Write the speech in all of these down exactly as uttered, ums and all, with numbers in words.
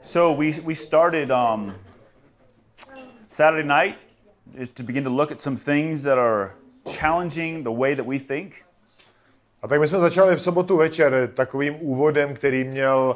So we we started um, Saturday night is to begin to look at some things that are challenging the way that we think. A tak my jsme začali v sobotu večer takovým úvodem, který měl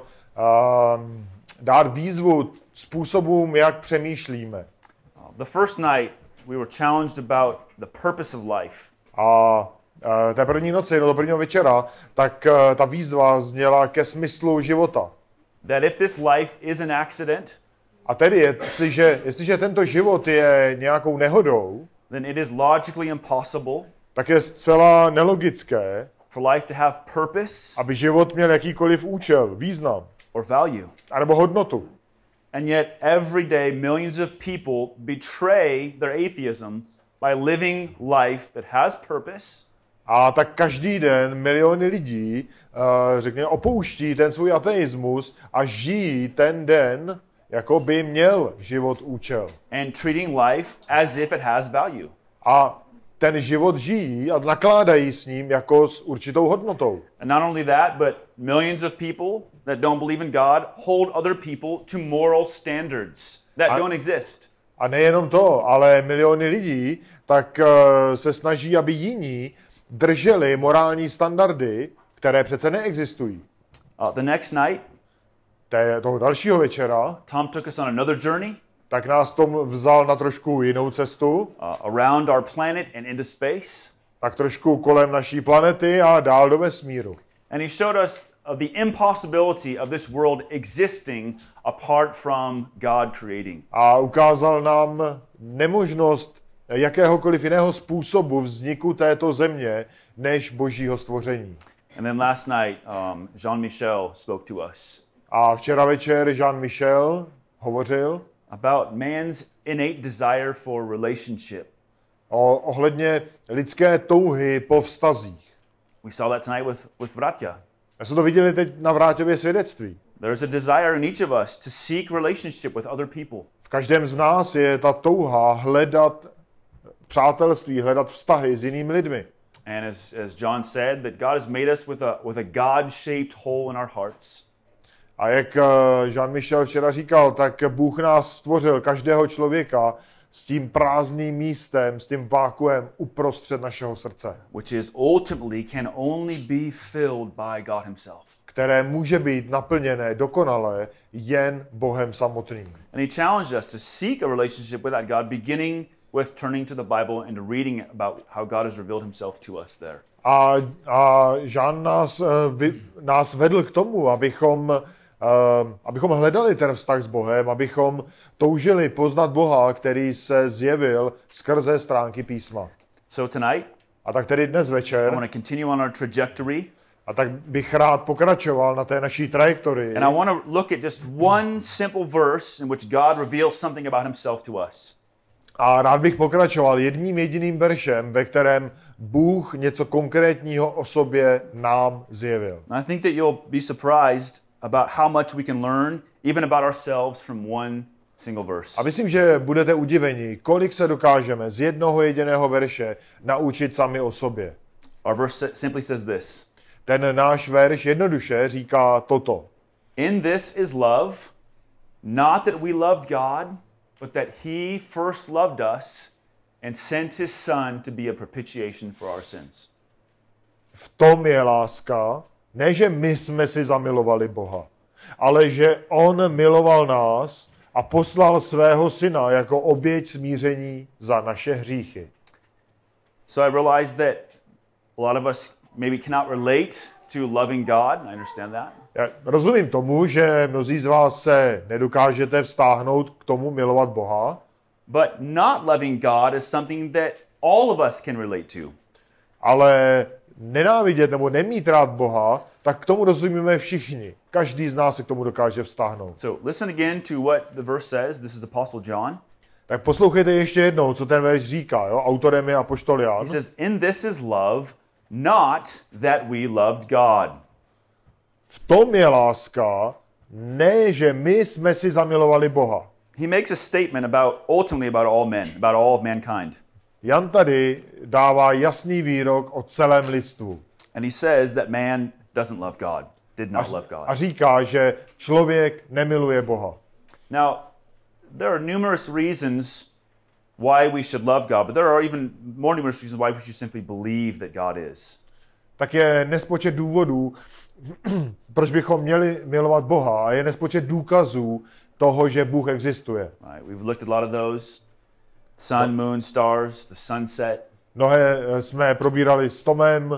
um, dát výzvu způsobům, jak přemýšlíme. The first night we were challenged about the purpose of life. A uh, té první noci, do prvního večera, tak uh, ta výzva zněla ke smyslu života. That if this life is an accident, A tedy, jestliže, jestliže tento život je nějakou nehodou, then it is logically impossible tak je zcela nelogické, for life to have purpose aby život měl jakýkoliv účel, význam, or value. anebo hodnotu. And yet every day millions of people betray their atheism by living life that has purpose. A tak každý den miliony lidí, uh, řekněme, opouští ten svůj ateismus a žijí ten den, jako by měl život účel. And treating life as if it has value. A ten život žijí a nakládají s ním jako s určitou hodnotou. And not only that, but millions of people that don't believe in God hold other people to moral standards that A- don't exist. A nejenom to, ale miliony lidí tak uh, se snaží, aby jiní drželi morální standardy, které přece neexistují. Uh, the next night, Té, toho dalšího večera, Tom took us on another journey tak nás Tom vzal na trošku jinou cestu, uh, around our planet and into space. tak trošku kolem naší planety a dál do vesmíru. And he showed us of the impossibility of this world existing apart from God creating. A ukázal nám nemožnost jakéhokoliv jiného způsobu vzniku této země, než božího stvoření. And then last night, um, Jean-Michel spoke to us A včera večer Jean-Michel hovořil about man's innate desire for relationship. o, ohledně lidské touhy po vztazích. We saw that tonight with, with Vratya. Já jsme to viděli teď na Vráťově svědectví. There is a desire in each of us to seek relationship with other people. V každém z nás je ta touha hledat přátelství, hledat vztahy s jinými lidmi. And as, as John said, that God has made us with a, with a God-shaped hole in our hearts. A jak Jean-Michel včera říkal, tak Bůh nás stvořil, každého člověka, s tím prázdným místem, s tím vákuem uprostřed našeho srdce, Which is ultimately can only be filled by God himself. které může být naplněné dokonale jen Bohem samotným. And he challenged us to seek a relationship with that God, beginning with turning to the Bible and reading about how God has revealed himself to us there. A, a Jean nás, eh, vy, nás vedl k tomu, abychom, eh, abychom hledali ten vztah s Bohem, abychom toužili poznat Boha, který se zjevil skrze stránky písma. So tonight, A tak tedy dnes I večer, want to continue on our trajectory, a tak bych rád pokračoval na té naší trajektorii. and I want to look at just one simple verse in which God reveals something about himself to us. A rád bych pokračoval jedním jediným veršem, ve kterém Bůh něco konkrétního o sobě nám zjevil. And I think that you'll be surprised about how much we can learn, even about ourselves, from one single verse. A myslím, že budete udiveni, kolik se dokážeme z jednoho jediného verše naučit sami o sobě. Our verse simply says this: Ten náš verš jednoduše říká toto. In this is love, not that we loved God, but that he first loved us and sent his son to be a propitiation for our sins. V tom je láska, ne že my jsme si zamilovali Boha, ale že on miloval nás a poslal svého syna jako oběť smíření za naše hříchy. So I realize that a lot of us maybe cannot relate to loving God. I understand that. Já rozumím tomu, že mnozí z vás se nedokážete vztáhnout k tomu milovat Boha, But not loving God is something that all of us can relate to. ale nenávidět nebo nemít rád Boha, tak k tomu rozumíme všichni. Každý z nás se k tomu dokáže vztáhnout. So listen again to what the verse says. This is the Apostle John. Tak poslouchejte ještě jednou, co ten verš říká. Jo? Autorem je apoštol Jan. He says, in this is love, not that we loved God. V tom je láska, ne, že my jsme si zamilovali Boha. He makes a statement about ultimately about all men, about all of mankind. Jan tady dává jasný výrok o celém lidstvu. And he says that man doesn't love God, did not love God. A říká, že člověk nemiluje Boha. Now, there are numerous reasons why we should love God, but there are even more numerous reasons why we should simply believe that God is. Tak je nespočet důvodů, proč bychom měli milovat Boha, a je nespočet důkazů toho, že Bůh existuje. Right? We've looked at a lot of those. Sun, moon, stars, the sunset. Mnohé jsme probírali s Tomem, uh,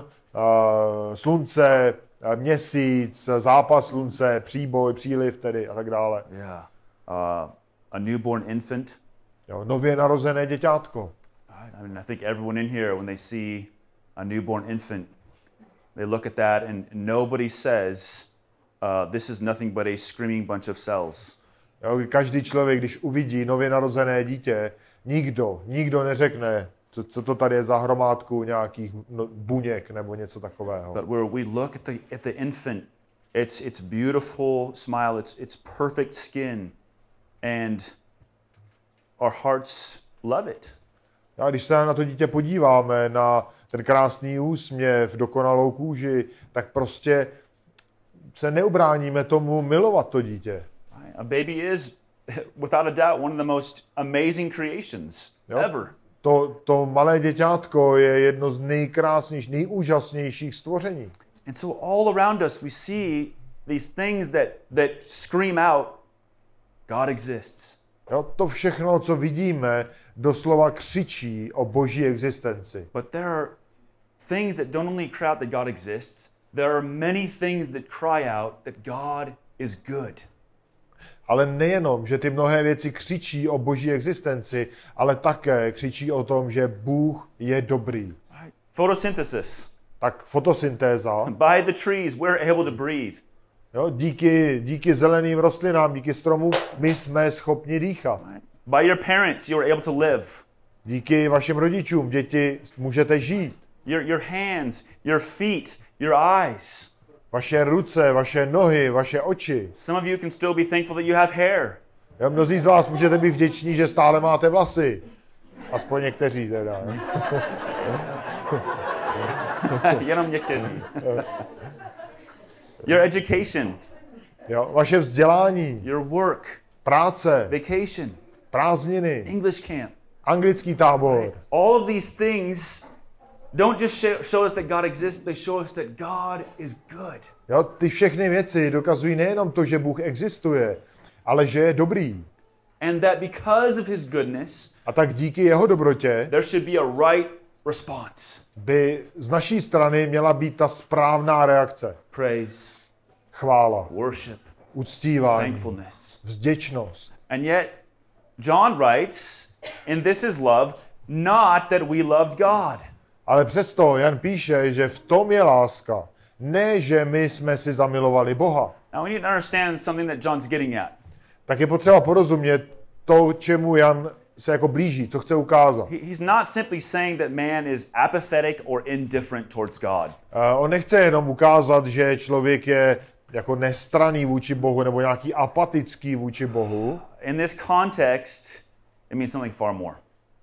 slunce, uh, měsíc, zápas slunce, příboj, příliv tedy a tak dále. Yeah. Uh, a newborn infant. Jo, nově narozené děťátko. Right? I mean, I think everyone in here, when they see a newborn infant, they look at that and nobody says, uh, this is nothing but a screaming bunch of cells. Jo, každý člověk, když uvidí nově narozené dítě, nikdo, nikdo neřekne, co, co to tady je za hromádku nějakých no, buněk nebo něco takového. But where we look at the at the infant, it's it's beautiful smile, it's it's perfect skin, and our hearts love it. A když se na to dítě podíváme, na ten krásný úsměv, dokonalou kůži, tak prostě se neubráníme tomu milovat to dítě. A baby is, without a doubt, one of the most amazing creations Jo. ever. To, to malé děťátko je jedno z nejkrásnějších, nejúžasnějších stvoření. And so all around us we see these things that that scream out, God exists. Jo, to všechno, co vidíme, doslova křičí o boží existenci. But there are things that don't only cry out that God exists, there are many things that cry out that God is good. Ale nejenom, že ty mnohé věci křičí o boží existenci, ale také křičí o tom, že Bůh je dobrý. Right? Photosynthesis. Tak fotosyntéza. By the trees, we're able to breathe. Jo, díky, díky zeleným rostlinám, díky stromům, my jsme schopni dýchat. Right? By your parents, you are able to live. Díky vašim rodičům, děti, můžete žít. Your, your hands, your feet, your eyes. Vaše ruce, vaše nohy, vaše oči. Some of you can still be thankful that you have hair. Jo, mnozí z vás můžete být vděční, že stále máte vlasy. Aspoň někteří teda. Jenom někteří. Your education. Jo, vaše vzdělání, Your work. práce, Vacation. prázdniny, English camp. anglický tábor. All of these things don't just show, show us that God exists, they show us that God is good. Jo, ty všechny věci dokazují nejenom to, že Bůh existuje, ale že je dobrý. And that because of his goodness, A tak díky jeho dobrotě there should be a right response. by z naší strany měla být ta správná reakce. Praise, Chvála, worship, uctívání, thankfulness. vděčnost. And yet, John writes, and this is love, not that we loved God. Ale přesto Jan píše, že v tom je láska. Ne, že my jsme si zamilovali Boha. Now we need to understand something that John's getting at. Tak je potřeba porozumět to, čemu Jan se jako blíží, co chce ukázat. He- He's not simply saying that man is apathetic or indifferent towards God. Uh, on nechce jenom ukázat, že člověk je jako nestranný vůči Bohu nebo nějaký apatický vůči Bohu. In this context, it means something far more.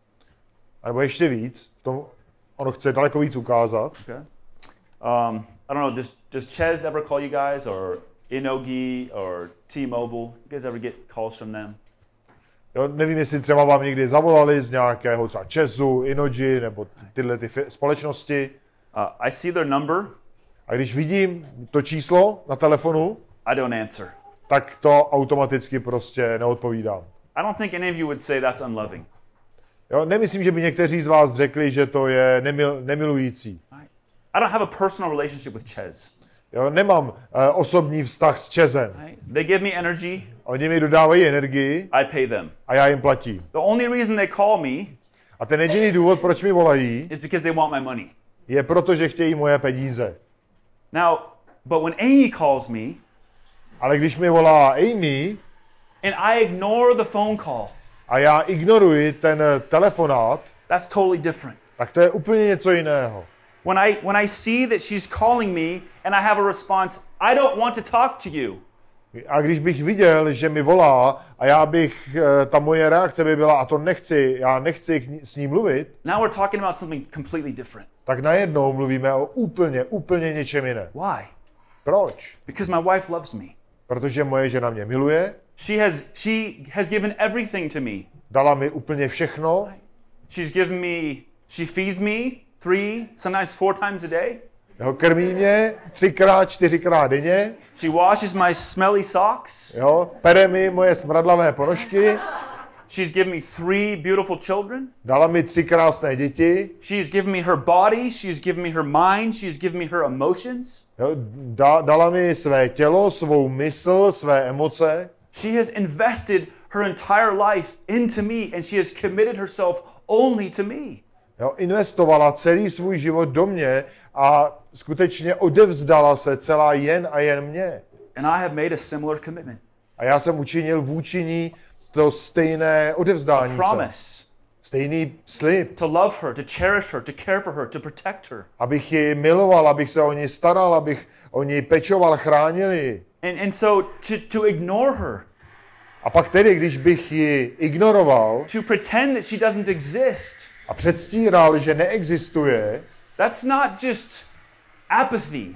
A nebo ještě víc, v tom on chce daleko víc ukázat. Okay. Um, I don't know, does, does Ches ever call you guys, or Inogi, or T-Mobile? You guys ever get calls from them? Jo, nevím, jestli třeba vám někdy zavolali z nějakého třeba Česu, Inoji nebo tyhle ty fi- společnosti. Uh, I see their number, A když vidím to číslo na telefonu, I don't answer. tak to automaticky prostě neodpovídám. I don't think any of you would say that's unloving. Jo, nemyslím, že by někteří z vás řekli, že to je nemil, nemilující. I don't have a personal relationship with Ches. Jo, nemám uh, osobní vztah s Čezem. Right? They give me energy, Oni mi dodávají energii I pay them. a já jim platím. The only reason they call me A ten jediný důvod, proč mi volají, is because they want my money. je proto, že chtějí moje peníze. Now, but when Amy calls me Ale když mi volá Amy and I ignore the phone call, a já ignoruji ten telefonát, that's totally different. tak to je úplně něco jiného. When I when I see that she's calling me and I have a response, I don't want to talk to you. A když bych viděl, že mi volá a já bych, eh, ta moje reakce by byla, a to nechci, já nechci k ní- s ní mluvit, Now we're talking about something completely different. tak najednou mluvíme o úplně, úplně něčem jiném. Why? Proč? Because my wife loves me. Protože moje žena mě miluje She has, she has given everything to me. Dala mi úplně všechno. She's given me, she feeds me three, sometimes four times a day. Jo, krmí mě třikrát, čtyřikrát denně. She washes my smelly socks. Jo, pere mi moje smradlavé ponožky. She's given me three beautiful children. Dala mi tři krásné děti. She's given me her body. She's given me her mind. She's given me her emotions. Jo, da, dala mi své tělo, svou mysl, své emoce. She has invested her entire life into me and she has committed herself only to me. Jo, investovala celý svůj život do mě a skutečně odevzdala se celá jen a jen mě. And I have made a similar commitment. A já jsem učinil vůči ní to stejné odevzdání se. Promise. Stejný slib. To love her, to cherish her, to care for her, to protect her. Abych ji miloval, abych se o ní staral, abych o ní pečoval, chránil ji. And, and so to, to ignore her, A pak tedy, když bych ji ignoroval to pretend that she doesn't exist, a předstíral, že neexistuje, that's not just apathy,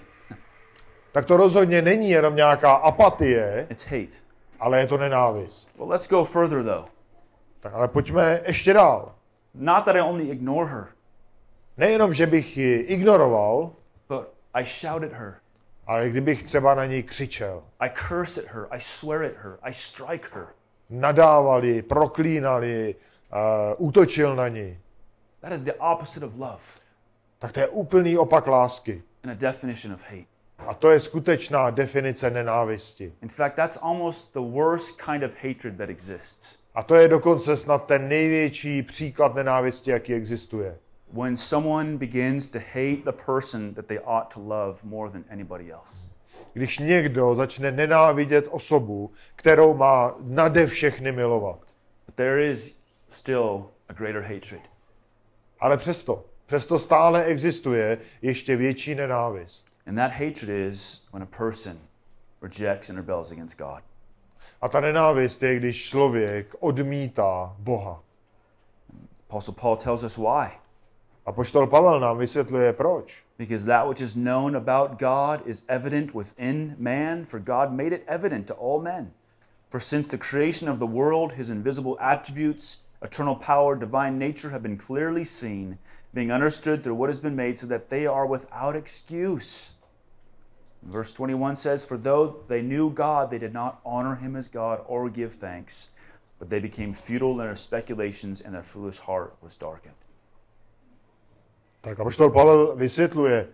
tak to rozhodně není jenom nějaká apatie, it's hate. ale je to nenávist. Well, let's go further though. Tak ale pojďme ještě dál. Not that I only ignore her, Nejenom, že bych ji ignoroval, but I shout at her. ale kdybych třeba na ní křičel, I curse at her, I swear at her, I strike her. nadával ji, proklínal ji, uh, útočil na ní, That is the opposite of love tak to je úplný opak lásky. and a definition of hate. A to je skutečná definice nenávisti. In fact, that's almost the worst kind of hatred that exists. A to je dokonce snad ten největší příklad nenávisti, jaký existuje. When someone begins to hate the person that they ought to love more than anybody else. Když někdo začne nenávidět osobu, kterou má nade všechny milovat. But there is still a greater hatred. Ale přesto, přesto stále existuje ještě větší nenávist. And that hatred is when a person rejects and rebels against God. A ta nenávist je, když člověk odmítá Boha. Apostle Paul tells us why. Apoštol Pavel nám vysvětluje proč. Because that which is known about God is evident within man, for God made it evident to all men. For since the creation of the world, his invisible attributes, eternal power, divine nature have been clearly seen, being understood through what has been made, so that they are without excuse. Verse twenty-one says, For though they knew God, they did not honor him as God or give thanks, but they became futile in their speculations, and their foolish heart was darkened. Tak apoštol Pavel vysvětluje,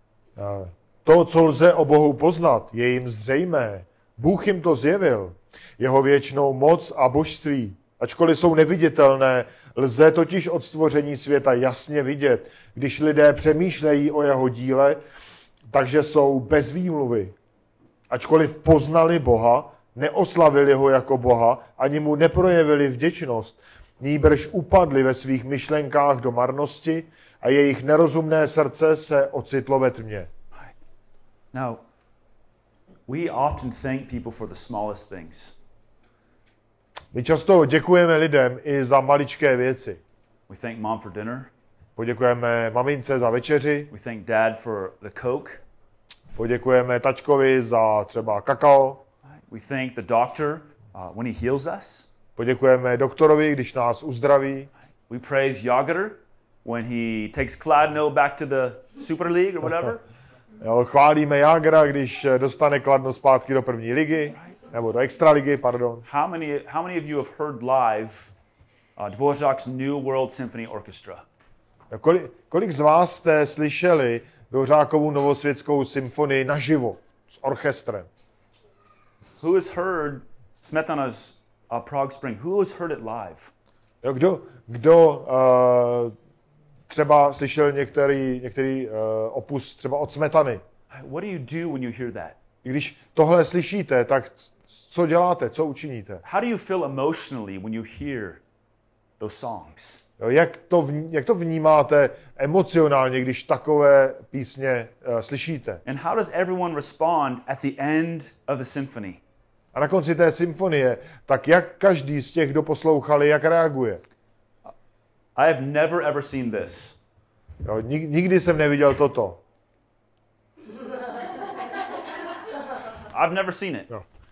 to, co lze o Bohu poznat, je jim zřejmé. Bůh jim to zjevil, jeho věčnou moc a božství. Ačkoliv jsou neviditelné, lze totiž od stvoření světa jasně vidět, když lidé přemýšlejí o jeho díle, takže jsou bez výmluvy. Ačkoliv poznali Boha, neoslavili ho jako Boha, ani mu neprojevili vděčnost, nýbrž upadli ve svých myšlenkách do marnosti a jejich nerozumné srdce se ocitlo ve tmě. Now, we often thank people for the smallest things. My často děkujeme lidem i za maličké věci. We thank mom for dinner. Poděkujeme mamince za večeři, We thank dad for the Coke. poděkujeme taťkovi za třeba kakao, We thank the doctor uh, when he heals us. poděkujeme doktorovi, když nás uzdraví, We praise Yager when he takes Kladno back to the Super League or whatever. jo, chválíme Jágra, když dostane Kladno zpátky do první ligy, nebo do extraligy, pardon. How many, how many of you have heard live uh, Dvořák's New World Symphony Orchestra? Kolik, kolik z vás jste slyšeli Dvořákovu novosvětskou symfonii naživo s orchestrem? Who has heard Smetana's uh, Prague Spring? Who has heard it live? Jo, kdo kdo uh, třeba slyšel některý, některý uh, opus třeba od Smetany? What do you do when you hear that? Když tohle slyšíte, tak co děláte, co učiníte? How do you feel emotionally when you hear those songs? Jo, jak, to vní, jak to vnímáte emocionálně, když takové písně uh, slyšíte? And how does everyone respond at the end of the symphony? A na konci té symfonie, tak jak každý z těch, kdo poslouchali, jak reaguje? I have never ever seen this. Jo, nik, nikdy jsem neviděl toto. I've never seen it. Jo.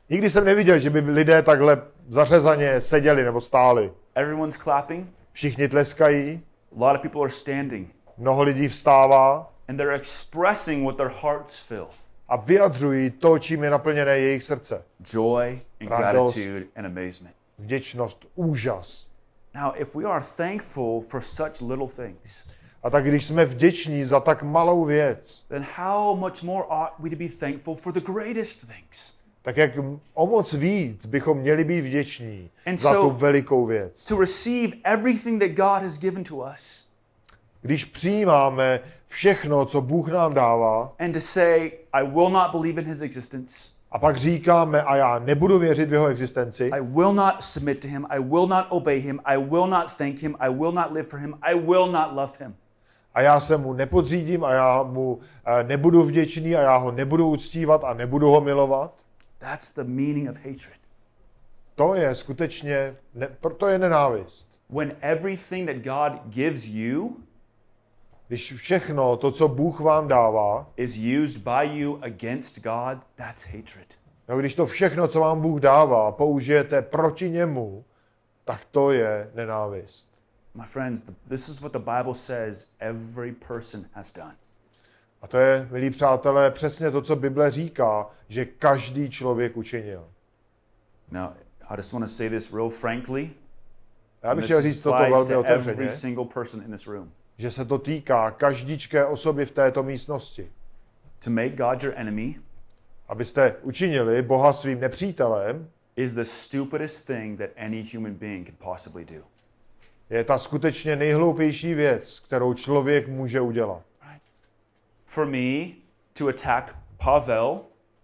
Nikdy jsem neviděl, že by lidé takhle zařezaně seděli nebo stáli. Everyone's clapping. Všichni tleskají, A lot of people are standing. mnoho lidí vstává And they're expressing what their hearts feel. a vyjadřují to, čím je naplněné jejich srdce. Joy and Radost. gratitude and amazement. Vděčnost, úžas. Now, if we are thankful for such little things, A tak když jsme vděční za tak malou věc, then how much more ought we to be thankful for the greatest things? tak jak o moc víc bychom měli být vděční And za so- tu velikou věc. To receive everything that God has given to us Když přijímáme všechno, co Bůh nám dává, and to say, I will not believe in his existence. a pak říkáme, a já nebudu věřit v jeho existenci, I will not submit to him. I will not obey him. I will not thank him. I will not live for him. I will not love him. a já se mu nepodřídím a já mu eh, nebudu vděčný a já ho nebudu uctívat a nebudu ho milovat, That's the meaning of hatred. to je skutečně, ne, to je nenávist. When everything that God gives you Když všechno to, co Bůh vám dává, is used by you against God, that's hatred. no, když to všechno, co vám Bůh dává, použijete proti němu, tak to je nenávist. My friends, th- this is what the Bible says every person has done. A to je, milí přátelé, přesně to, co Bible říká, že každý člověk učinil. Now, I just want to say this real frankly. Já bych This chtěl říct toto applies velmi to otevřeně, every single person in this room. že se to týká každičké osoby v této místnosti. To make God your enemy Abyste učinili Boha svým nepřítelem, is the stupidest thing that any human being could possibly do. je ta skutečně nejhloupější věc, kterou člověk může udělat. Right? For me to attack Pavel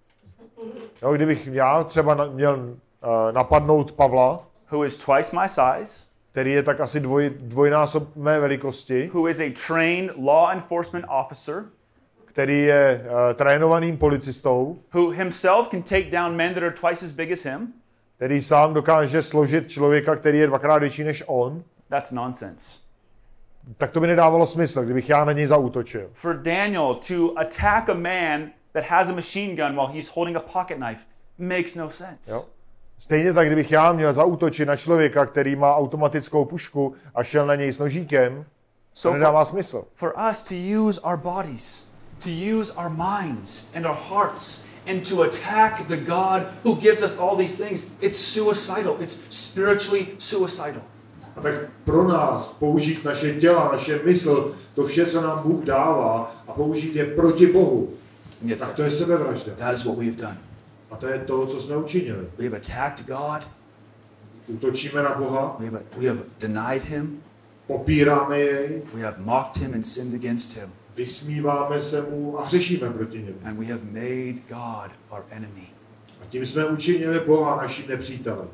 Jo, kdybych já třeba na- měl uh, napadnout Pavla, who is twice my size, který je tak asi dvoj, dvojnásob mé velikosti, who is a trained law enforcement officer, který je uh, trénovaným policistou, who himself can take down men that are twice as big as him, který sám dokáže složit člověka, který je dvakrát větší než on, that's nonsense. tak to by nedávalo smysl, kdybych já na něj zaútočil. For Daniel to attack a man that has a machine gun while he's holding a pocket knife makes no sense. Jo? Stejně tak, kdybych já měl zaútočit na člověka, který má automatickou pušku a šel na něj s nožíkem, to So nedává for, smysl. for us to use our bodies, to use our minds and our hearts, and to attack the God who gives us all these things, it's suicidal. It's spiritually suicidal. A tak pro nás použít naše těla, naše mysl, to vše, co nám Bůh dává, a použít je proti Bohu, Yet tak to je sebevražda. that is what we have done. A to je to, co jsme učinili. We have attacked God. Útočíme na Boha, We have, we have denied him. popíráme jej, We have mocked him and sinned against him. vysmíváme se mu a hřešíme proti němu. And we have made God our enemy. A tím jsme učinili Boha naším nepřítelem.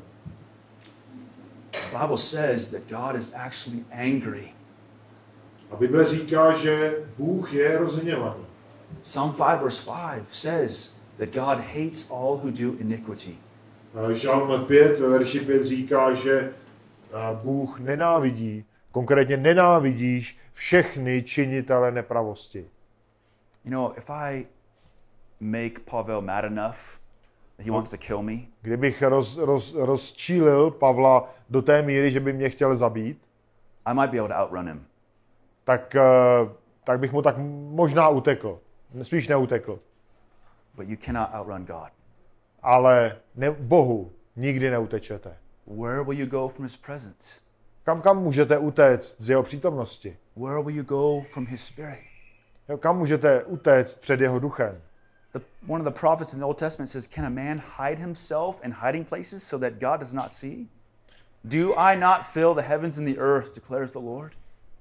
The Bible says that God is actually angry. A Bible říká, že Bůh je rozhněvaný. Psalm five verse five says that God hates all who do iniquity. Žalm pět, ve verši pět říká, že Bůh nenávidí, konkrétně nenávidíš všechny činitele nepravosti. You know, if I make Pavel mad enough that he wants to kill me, Kdybych roz, roz, rozčílil Pavla do té míry, že by mě chtěl zabít, I might be able to outrun him. tak, tak bych mu tak možná utekl. Spíš neutekl. But you cannot outrun God. Ale ne, Bohu nikdy neutečete. Where will you go from his presence? Kam, kam můžete utéct z jeho přítomnosti? Where will you go from his spirit? Jo, kam můžete utéct před jeho duchem? The, one of the prophets in the Old Testament says, can a man hide himself in hiding places so that God does not see? Do I not fill the heavens and the earth, declares the Lord?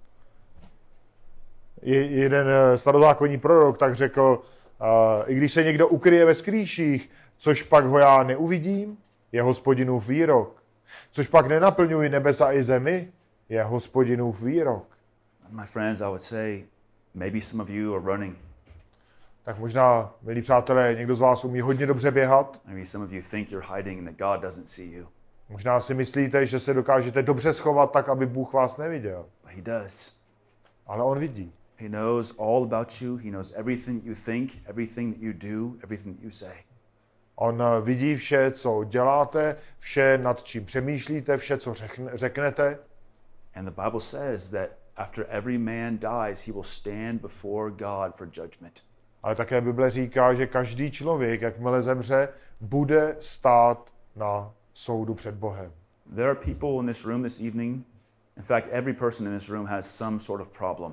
Je, jeden starozákonní prorok tak řekl, uh, i když se někdo ukryje ve skrýších, což pak ho já neuvidím, je Hospodinův výrok. Což pak nenaplňuji nebesa i zemi, je Hospodinův výrok. My friends, I would say, maybe some of you are running. Tak možná, milí přátelé, někdo z vás umí hodně dobře běhat. Maybe some of you think you're hiding and that God doesn't see you. Možná si myslíte, že se dokážete dobře schovat tak, aby Bůh vás neviděl. But he does. Ale on vidí. He knows all about you. He knows everything you think, everything that you do, everything that you say. On vidí vše, co děláte, vše, nad čím přemýšlíte, vše, co řeknete. And the Bible says that after every man dies, he will stand before God for judgment. Ale také Bible říká, že každý člověk, jakmile zemře, bude stát na soudu před Bohem. There are people in this room this evening. In fact, every person in this room has some sort of problem.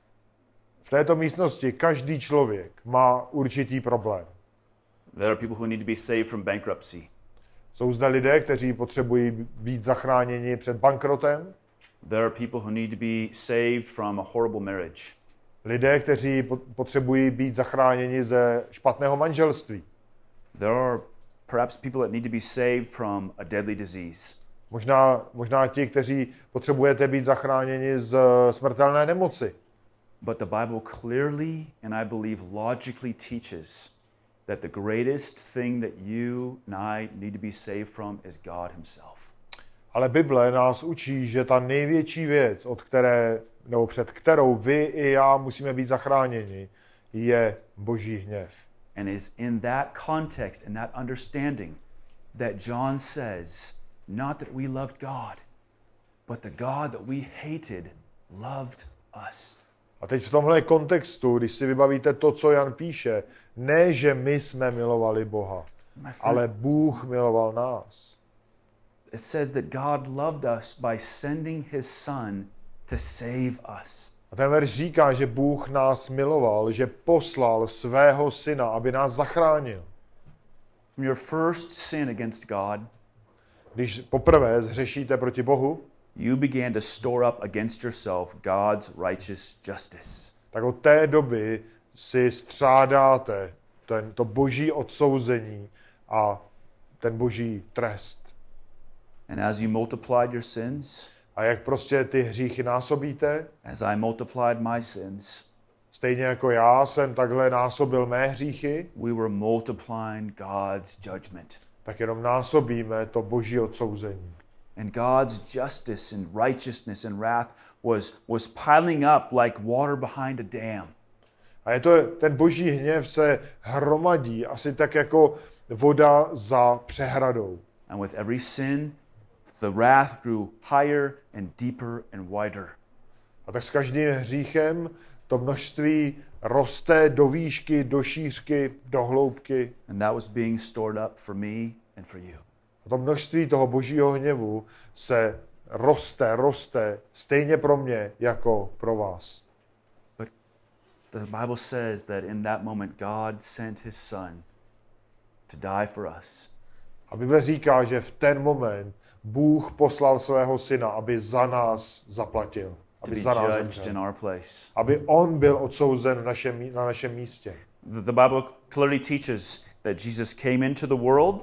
V této místnosti každý člověk má určitý problém. There are people who need to be saved from bankruptcy. Jsou zde lidé, kteří potřebují být zachráněni před bankrotem. There are people who need to be saved from a horrible marriage. Lidé, kteří potřebují být zachráněni ze špatného manželství. There are perhaps people that need to be saved from a deadly disease. Možná, možná ti, kteří potřebujete být zachráněni z smrtelné nemoci. But the Bible clearly and I believe logically teaches that the greatest thing that you and I need to be saved from is God himself. Ale Bible nás učí, že ta největší věc, od které, nebo před kterou vy i já musíme být zachráněni, je Boží hněv. And is in that context and that understanding that John says, not that we loved God, but the God that we hated loved us. A teď v tomhle kontextu, když si vybavíte to, co Jan píše, ne, že my jsme milovali Boha, ale Bůh miloval nás. It says that God loved us by sending his son to save us. A ten verš říká, že Bůh nás miloval, že poslal svého syna, aby nás zachránil. From your first sin against God, když poprvé zhřešíte proti Bohu, you began to store up against yourself God's righteous justice. Tak od té doby si střádáte ten, to boží odsouzení a ten boží trest. And as you multiplied your sins, a jak prostě ty hříchy násobíte, as I multiplied my sins, stejně jako já jsem takhle násobil mé hříchy, we were multiplying God's judgment. Tak jenom násobíme to boží odsouzení. And God's justice and righteousness and wrath was, was piling up like water behind a dam. A je to, ten boží hněv se hromadí asi tak jako voda za přehradou. And with every sin, the wrath grew higher and deeper and wider. A tak s každým hříchem to množství roste do výšky, do šířky, do hloubky. And that was being stored up for me and for you. A to množství toho božího hněvu se roste, roste stejně pro mě jako pro vás. But the Bible says that in that moment God sent his son to die for us. A Bible říká, že v ten moment Bůh poslal svého syna, aby za nás zaplatil. To be judged in our place. Aby on byl odsouzen v našem, na našem místě. The, the Bible clearly teaches that Jesus came into the world.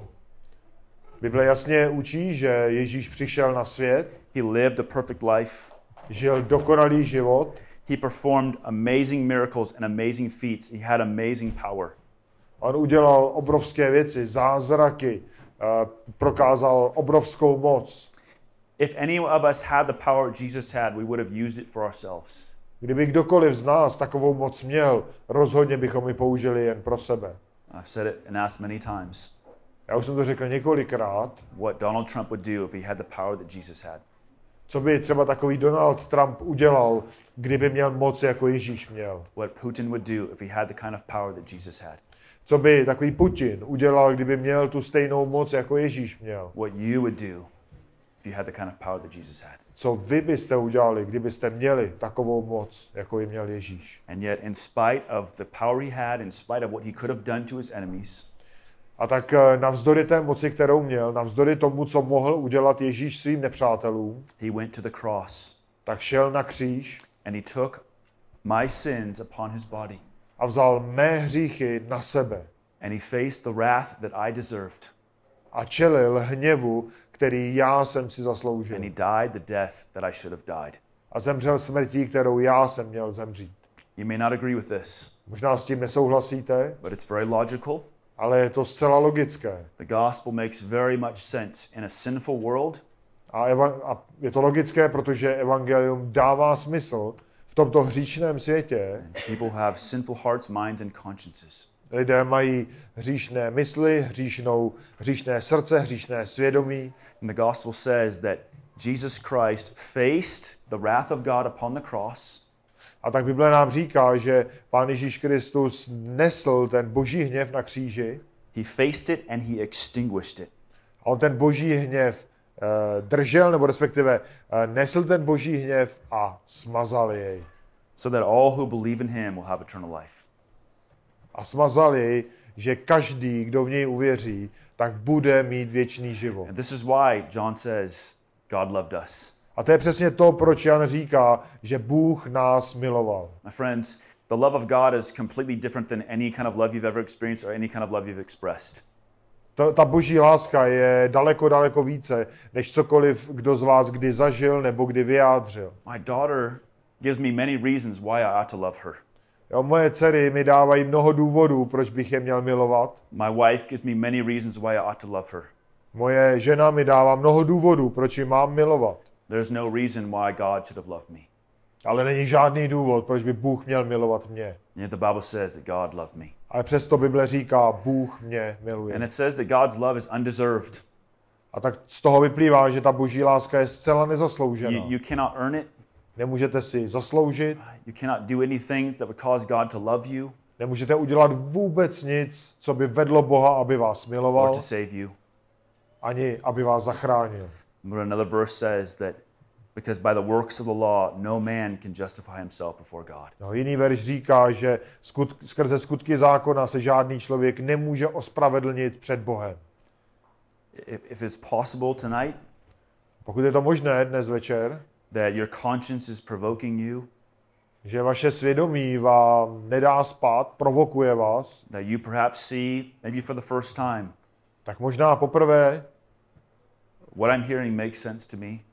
Bible jasně učí, že Ježíš přišel na svět. He lived a perfect life. Žil dokonalý život. He performed amazing miracles and amazing feats. He had amazing power. On udělal obrovské věci, zázraky, uh, prokázal obrovskou moc. If any of us had the power Jesus had, we would have used it for ourselves. Kdyby kdokoliv z nás takovou moc měl, rozhodně bychom ji použili jen pro sebe. I've said it and asked many times. Já už jsem to řekl několikrát. What Donald Trump would do if he had the power that Jesus had. Co by třeba takový Donald Trump udělal, kdyby měl moc, jako Ježíš měl? What Putin would do if he had the kind of power that Jesus had. Co by takový Putin udělal, kdyby měl tu stejnou moc, jako Ježíš měl? What you would do if you had the kind of power that Jesus had. Co vy byste udělali, kdybyste měli takovou moc, jako ji měl Ježíš? And yet, in spite of the power he had, in spite of what he could have done to his enemies, a tak navzdory té moci, kterou měl, navzdory tomu, co mohl udělat Ježíš svým nepřátelům, he went to the cross. Tak šel na kříž. And he took my sins upon his body. A vzal mé hříchy na sebe. And he faced the wrath that I deserved. A čelil hněvu, který já jsem si zasloužil. And he died the death that I should have died. A zemřel smrtí, kterou já jsem měl zemřít. You may not agree with this. Možná s tím nesouhlasíte, but it's very logical. Ale je to zcela logické. The gospel makes very much sense in a sinful world. A, eva- a je to logické, protože evangelium dává smysl v tomto hříčném světě. People have sinful hearts, minds and consciences. Lidé mají hříšné mysli, hříšnou, hříšné srdce, hříšné svědomí. And the gospel says that Jesus Christ faced the wrath of God upon the cross. A tak Bible nám říká, že Pán Ježíš Kristus nesl ten boží hněv na kříži. He faced it and he extinguished it. A on ten boží hněv uh, držel, nebo respektive uh, nesl ten boží hněv a smazal jej. So that all who believe in him will have eternal life. A smazal jej, že každý, kdo v něj uvěří, tak bude mít věčný život. And this is why John says God loved us. A to je přesně to, proč Jan říká, že Bůh nás miloval. My friends, the love of God is completely different than any kind of love you've ever experienced or any kind of love you've expressed. To, ta boží láska je daleko, daleko více, než cokoliv, kdo z vás kdy zažil nebo kdy vyjádřil. My daughter gives me many reasons why I ought to love her. Jo, moje dcery mi dávají mnoho důvodů, proč bych je měl milovat. My wife gives me many reasons why I ought to love her. Moje žena mi dává mnoho důvodů, proč ji mám milovat. There's no reason why God should have loved me. Ale není žádný důvod, proč by Bůh měl milovat mě. Yet the Bible says that God loved me. Ale přesto Bible říká, Bůh mě miluje. And it says that God's love is undeserved. A tak z toho vyplývá, že ta boží láska je zcela nezasloužená. You, you cannot earn it. Nemůžete si zasloužit, You cannot do any things that would cause God to love you nemůžete udělat vůbec nic, co by vedlo Boha, aby vás or miloval, to save you. ani aby vás zachránil. But another verse says that because by the works of the law, no man can justify himself before God. No, jiný verš říká, že skut, skrze skutky zákona se žádný člověk nemůže ospravedlnit před Bohem. If, if it's possible tonight Pokud je to možné dnes večer, that your conscience is provoking you, že vaše svědomí vám nedá spát, provokuje vás, that you perhaps see, maybe for the first time, tak možná poprvé, what I'm hearing makes sense to me.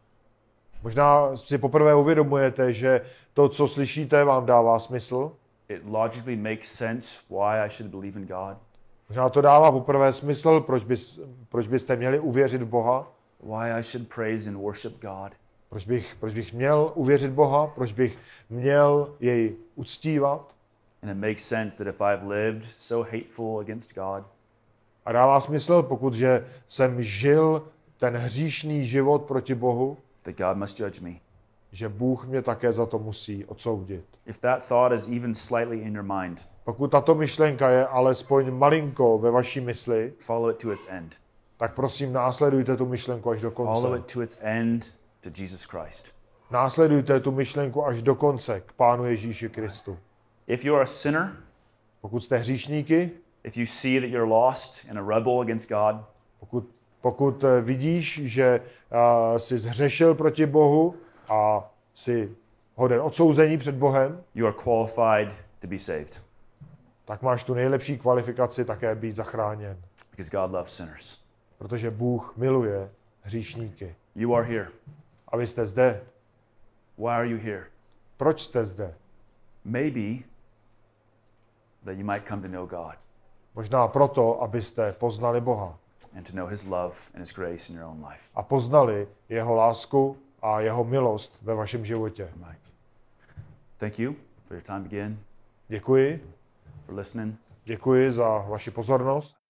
možná si poprvé uvědomujete, že to, co slyšíte, vám dává smysl. It logically makes sense why I should believe in God, Možná to dává poprvé smysl, proč, bys, proč byste měli uvěřit v Boha, why I should praise and worship God. proč bych, proč bych měl uvěřit Boha, proč bych měl jej uctívat. And it makes sense that if I've lived so hateful against God, A dává smysl, pokud že jsem žil ten hříšný život proti Bohu, that God must judge me. že Bůh mě také za to musí odsoudit. If that thought is even slightly in your mind, Pokud tato myšlenka je alespoň malinko ve vaší mysli, follow it to its end. tak prosím následujte tu myšlenku až do Follow konce. it to its end to Jesus Christ. Následujte tu myšlenku až do konce k Pánu Ježíši Kristu. If you're a sinner, Pokud jste hříšníky, if you see that you're lost and a rebel against God, pokud, pokud eh, vidíš, že uh, jsi zhřešil proti Bohu a jsi hoden odsouzení před Bohem, you are qualified to be saved tak máš tu nejlepší kvalifikaci také být zachráněn. because God loves sinners. Protože Bůh miluje hříšníky. You are here. A vy jste zde. Why are you here? Proč jste zde? Maybe that you might come to know God Možná proto, abyste poznali Boha and to know His love and His grace in your own life. a poznali jeho lásku a jeho milost ve vašem životě. Right. Thank you for your time again, Děkuji. for listening. Děkuji za vaši pozornost.